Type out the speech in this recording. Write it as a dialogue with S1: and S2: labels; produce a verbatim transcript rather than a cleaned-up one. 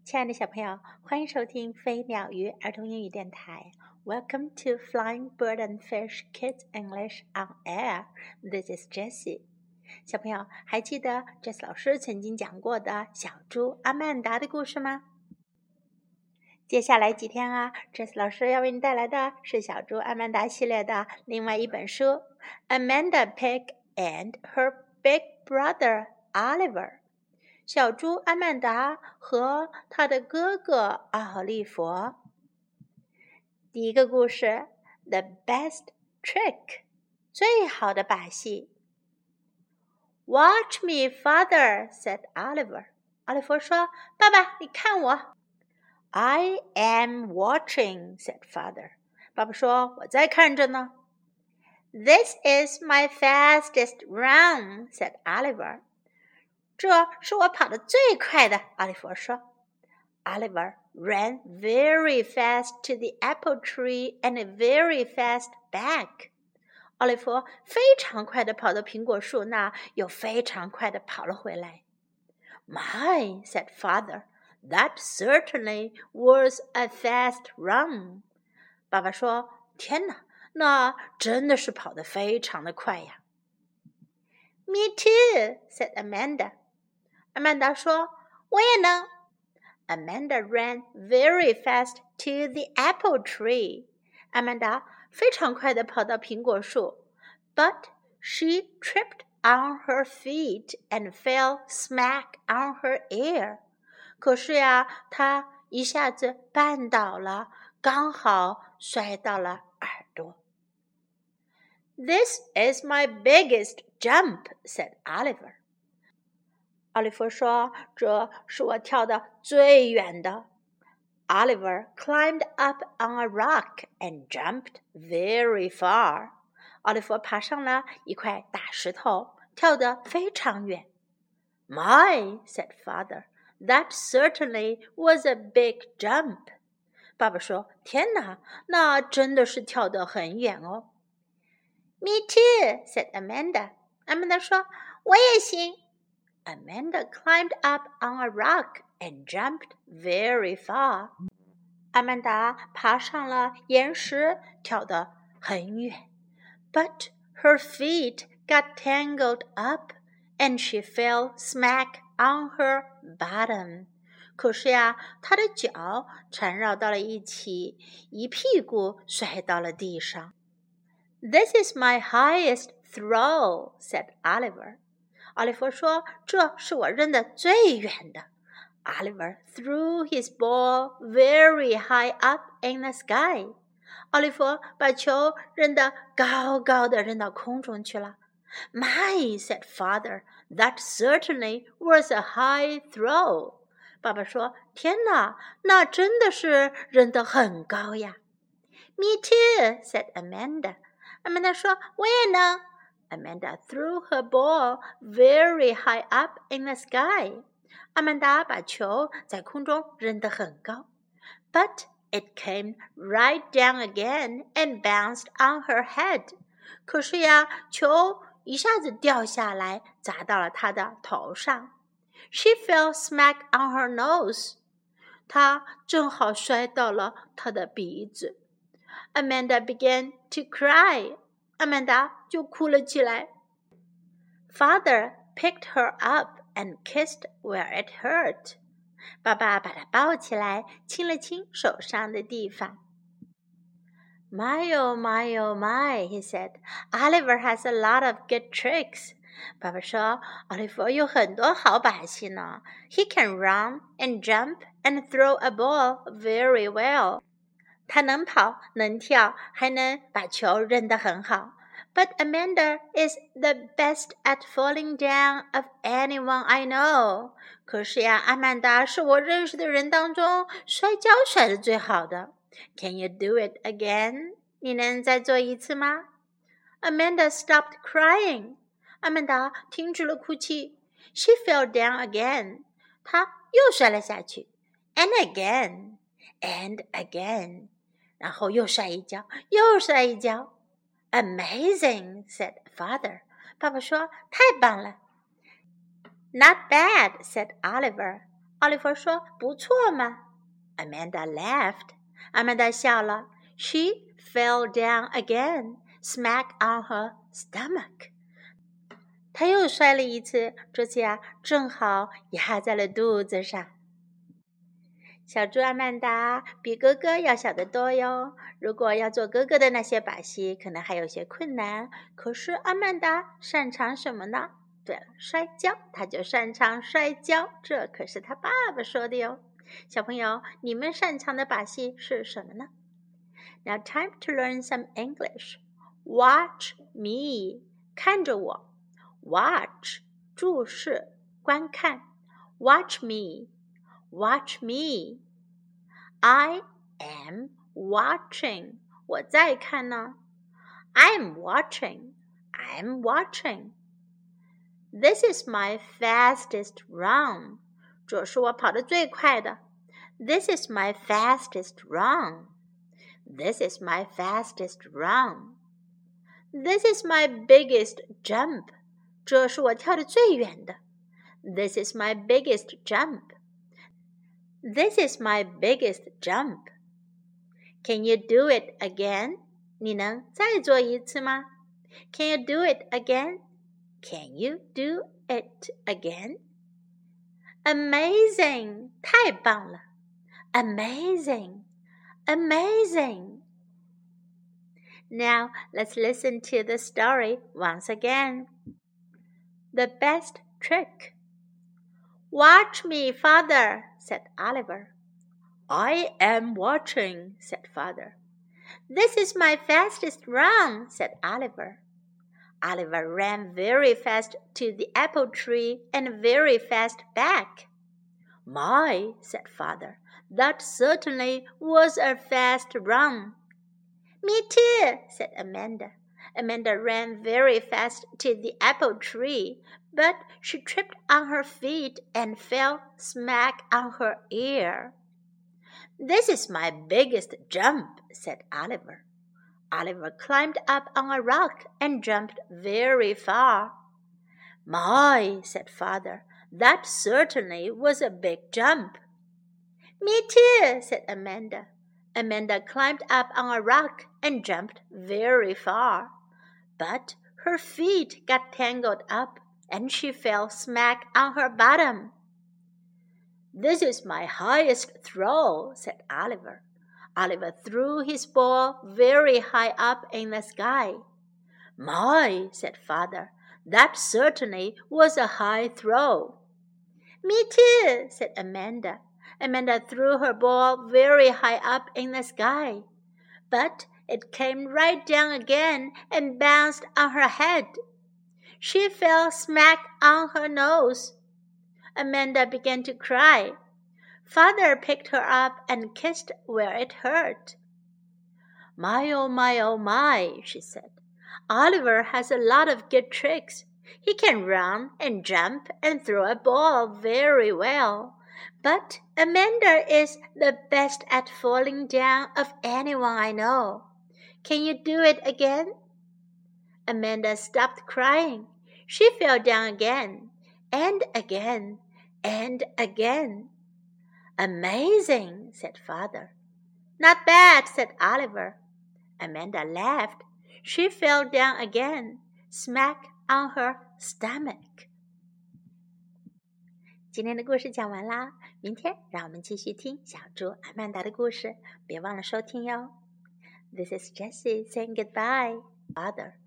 S1: 亲爱的小朋友，欢迎收听飞鸟鱼儿童英语电台。Welcome to Flying Bird and Fish Kids English on Air. This is Jessie. 小朋友，还记得 Jessie 老师曾经讲过的小猪阿曼达的故事吗？接下来几天啊 ，Jessie 老师要为你带来的是小猪阿曼达系列的另外一本书 ，Amanda Pig and Her Big Brother Oliver。小猪阿曼达和他的哥哥奥利弗。第一个故事 The Best Trick 最好的把戏。 Watch me, father, said Oliver. 奥利弗说，爸爸你看我。 I am watching, said father. 爸爸说，我在看着呢。 This is my fastest run, said Oliver. 这是我跑得最快的，奥利弗说。 Oliver ran very fast to the apple tree and very fast back. 奥利弗非常快地跑到苹果树那，又非常快地跑了回来。 My, said father, that certainly was a fast run. 爸爸说，天哪，那真的是跑得非常的快呀。 Me too, said Amanda. 阿曼达说，我也能。 Amanda ran very fast to the apple tree. 阿曼达非常快地跑到苹果树 But she tripped on her feet and fell smack on her ear. 可是呀，她一下子绊倒了，刚好摔到了耳朵。 This is my biggest jump, said Oliver.奥利弗说，这是我跳得最远的。 Oliver climbed up on a rock and jumped very far. 奥利弗爬上了一块大石头，跳得非常远。 My, said father, that certainly was a big jump. 爸爸说，天哪，那真的是跳得很远哦。 Me too, said Amanda. 阿曼达说，我也行。Amanda climbed up on a rock and jumped very far. 阿曼达爬上了岩石，跳得很远。But her feet got tangled up and she fell smack on her bottom. 可是呀，她的脚缠绕到了一起，一屁股摔到了地上。 This is my highest throw, said Oliver.奥利弗说，这是我扔得最远的。 Oliver threw his ball very high up in the sky. 奥利弗把球扔得高高的，扔到空中去了。 My, said father, that certainly was a high throw. 爸爸说，天哪，那真的是扔得很高呀。 Me too, said Amanda. 阿曼达说，我也能。Amanda threw her ball very high up in the sky. 阿曼达把球在空中扔得很高。 But it came right down again and bounced on her head. 可是呀，球一下子掉下来，砸到了她的头上。 She fell smack on her nose. 她正好摔到了她的鼻子。 Amanda began to cry.阿曼达就哭了起来。 Father picked her up and kissed where it hurt. 爸爸把她抱起来，亲了亲手上的地方。 My oh my oh my, he said. Oliver has a lot of good tricks. 爸爸说，奥利弗有很多好把戏呢。He can run and jump and throw a ball very well. 他能跑，能跳，还能把球扔得很好。 But Amanda is the best at falling down of anyone I know. 可是呀，阿曼达是我认识的人当中摔跤摔得最好的。Can you do it again? 你能再做一次吗？ Amanda stopped crying. 阿曼达停止了哭泣。She fell down again. 她又摔了下去。And again, and again. 然后又摔一跤，又摔一跤。 Amazing, said father. 爸爸说，太棒了。Not bad, said Oliver. 奥利弗说：“不错嘛。” Amanda laughed. 阿曼达笑了。She fell down again, smack on her stomach. 她又摔了一次，这次呀，正好压在了肚子上。小猪阿曼达比哥哥要小得多哟。如果要做哥哥的那些把戏，可能还有些困难。可是阿曼达擅长什么呢？对了，摔跤，他就擅长摔跤，这可是他爸爸说的哟。小朋友，你们擅长的把戏是什么呢？ Now time to learn some English. Watch me. 看着我。Watch. 注视，观看。Watch me. Watch me. I am watching. 我在看呢。I'm watching. I'm watching. This is my fastest run. 这是我跑得最快的。This is my fastest run. This is my fastest run. This is my biggest jump. 这是我跳得最远的。This is my biggest jump. This is my biggest jump. Can you do it again? 你能再做一次吗？ Can you do it again? Can you do it again? Amazing! 太棒了。Amazing! Amazing! Now let's listen to the story once again. The best trick. Watch me, Father, said Oliver. I am watching, said Father. This is my fastest run, said Oliver. Oliver ran very fast to the apple tree and very fast back. My, said Father, that certainly was a fast run. Me too, said Amanda. Amanda ran very fast to the apple tree, but she tripped on her feet and fell smack on her ear. This is my biggest jump, said Oliver. Oliver climbed up on a rock and jumped very far. My, said Father, that certainly was a big jump. Me too, said Amanda. Amanda climbed up on a rock and jumped very far. But her feet got tangled up and she fell smack on her bottom. This is my highest throw, said Oliver. Oliver threw his ball very high up in the sky. My, said Father, that certainly was a high throw. Me too, said Amanda. Amanda threw her ball very high up in the sky, but it came right down again and bounced on her head. She fell smack on her nose. Amanda began to cry. Father picked her up and kissed where it hurt. My, oh my, oh my, she said. Oliver has a lot of good tricks. He can run and jump and throw a ball very well. But Amanda is the best at falling down of anyone I know. Can you do it again? Amanda stopped crying. She fell down again, and again, and again. Amazing, said Father. Not bad, said Oliver. Amanda laughed. She fell down again, smack on her stomach. 今天的故事讲完啦，明天让我们继续听小猪阿曼达的故事，别忘了收听哟。This is Jessie saying goodbye, Father.